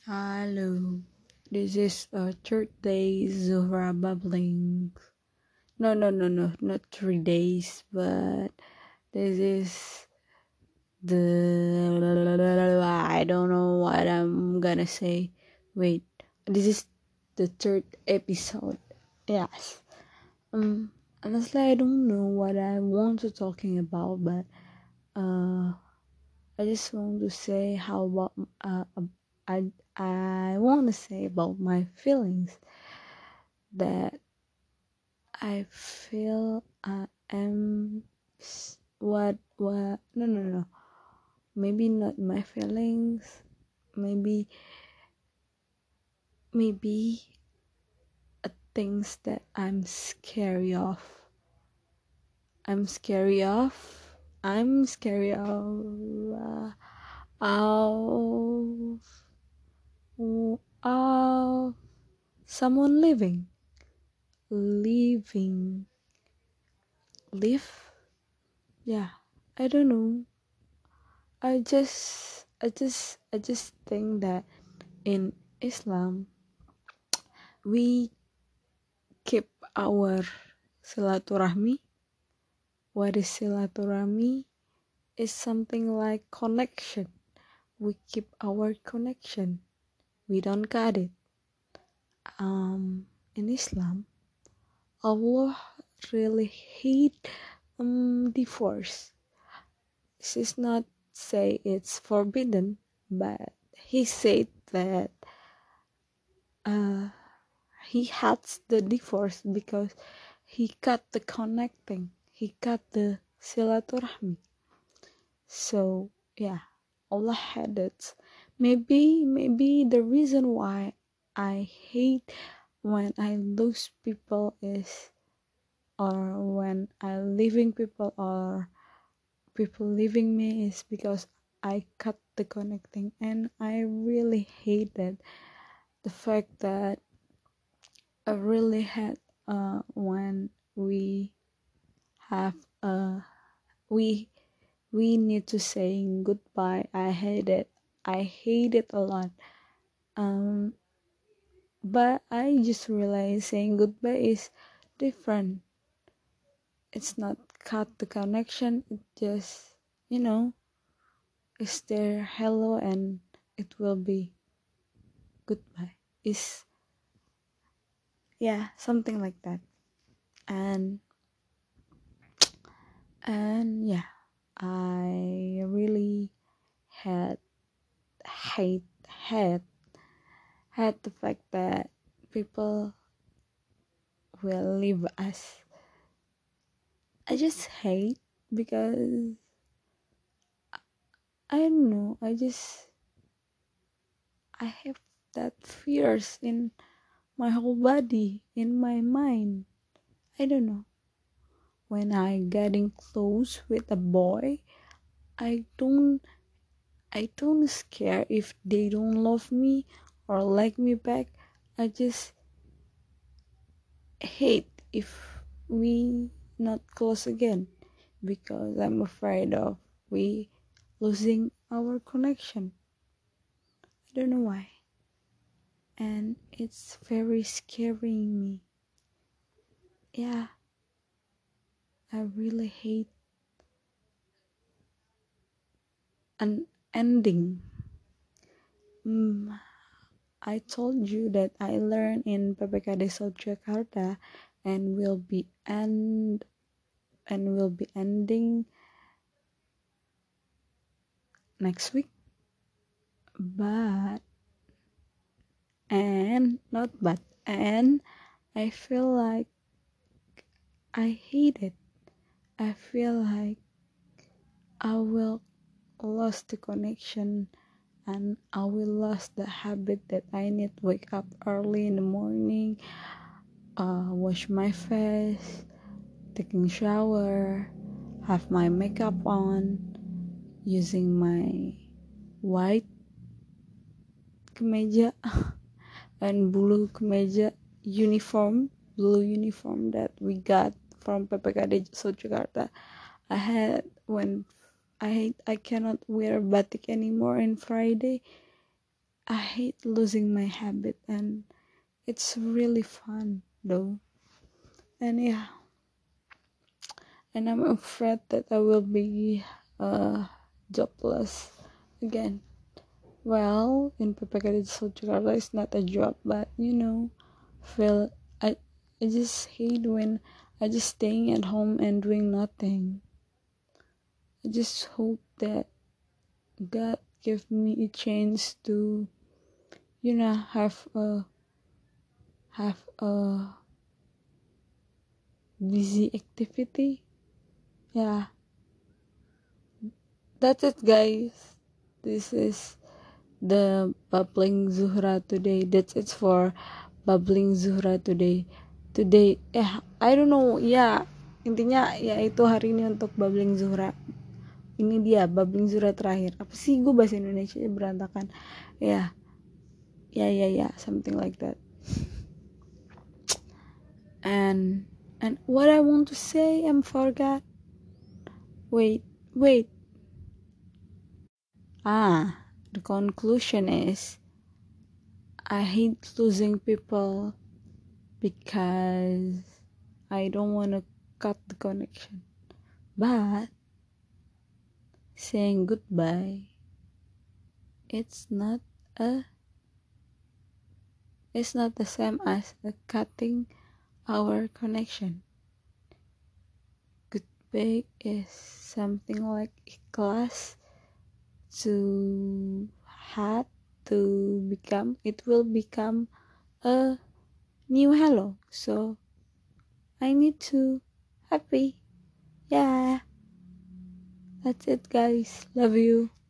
Hello, this is third day Zuhra bubbling. No, not 3 days, but this is I don't know what I'm gonna say. Wait, this is the third episode. Yes. Honestly, I don't know what I want to talking about, but I just want to say how about I I want to say about my feelings that I feel I am what no, maybe not my feelings, maybe maybe things that I'm scary of I'm scary of of someone living live. Yeah, I don't know. I just think that in Islam we keep our silaturahmi. What is silaturahmi? Is something like connection. We keep our connection. We don't cut it. In Islam, Allah really hate divorce. This is not say it's forbidden, but He said that uh, He hates the divorce because He cut the connecting. He cut the silaturahmi. So yeah, Allah had it. Maybe the reason why I hate when I lose people is, or when I leaving people or people leaving me is because I cut the connecting, and I really hated the fact that I really had when we have we we need to saying goodbye. I hate it a lot. um but I just realized saying goodbye is different. It's not cut the connection, it just, is there hello and it will be goodbye. Is, yeah, something like that. and and yeah, I really had hate had had the fact that people will leave us. I just hate because I don't know. I have that fears in my whole body, in my mind. I don't know. When I getting close with a boy, I don't I don't scare if they don't love me or like me back. I just hate if we not close again because I'm afraid of we losing our connection. I don't know why. And it's very scaring me. Yeah, I really hate an ending. I told you that I learned in PPKD South Jakarta and will be ending next week. But and not but and I feel like I hate it. I feel like I will lose the connection, and I will lose the habit that I need to wake up early in the morning, wash my face, taking shower, have my makeup on, using my white kemeja and blue uniform that we got from PPKD South Jakarta. I had when I cannot wear batik anymore on Friday I hate losing my habit, and it's really fun though. And yeah, and I'm afraid that I will be jobless again. Well, in PPK Jakarta, it's not a job, but feel I I just hate when I just staying at home and doing nothing. I just hope that God give me a chance to have a busy activity. Yeah, that's it, guys. This is the bubbling Zuhra today. That's it for bubbling Zuhra today. I don't know. Ya, intinya ya itu hari ini untuk bubbling Zuhra. Ini dia bubbling Zuhra terakhir. Apa sih, gue bahasa Indonesia berantakan. Ya, ya, something like that. And what I want to say, I'm forgot. Wait. The conclusion is I hate losing people because I don't want to cut the connection. But saying goodbye, it's not a it's not the same as cutting our connection. Goodbye is something like ikhlas to had to become. It will become a new hello. So I need to happy. Yeah. That's it, guys. Love you.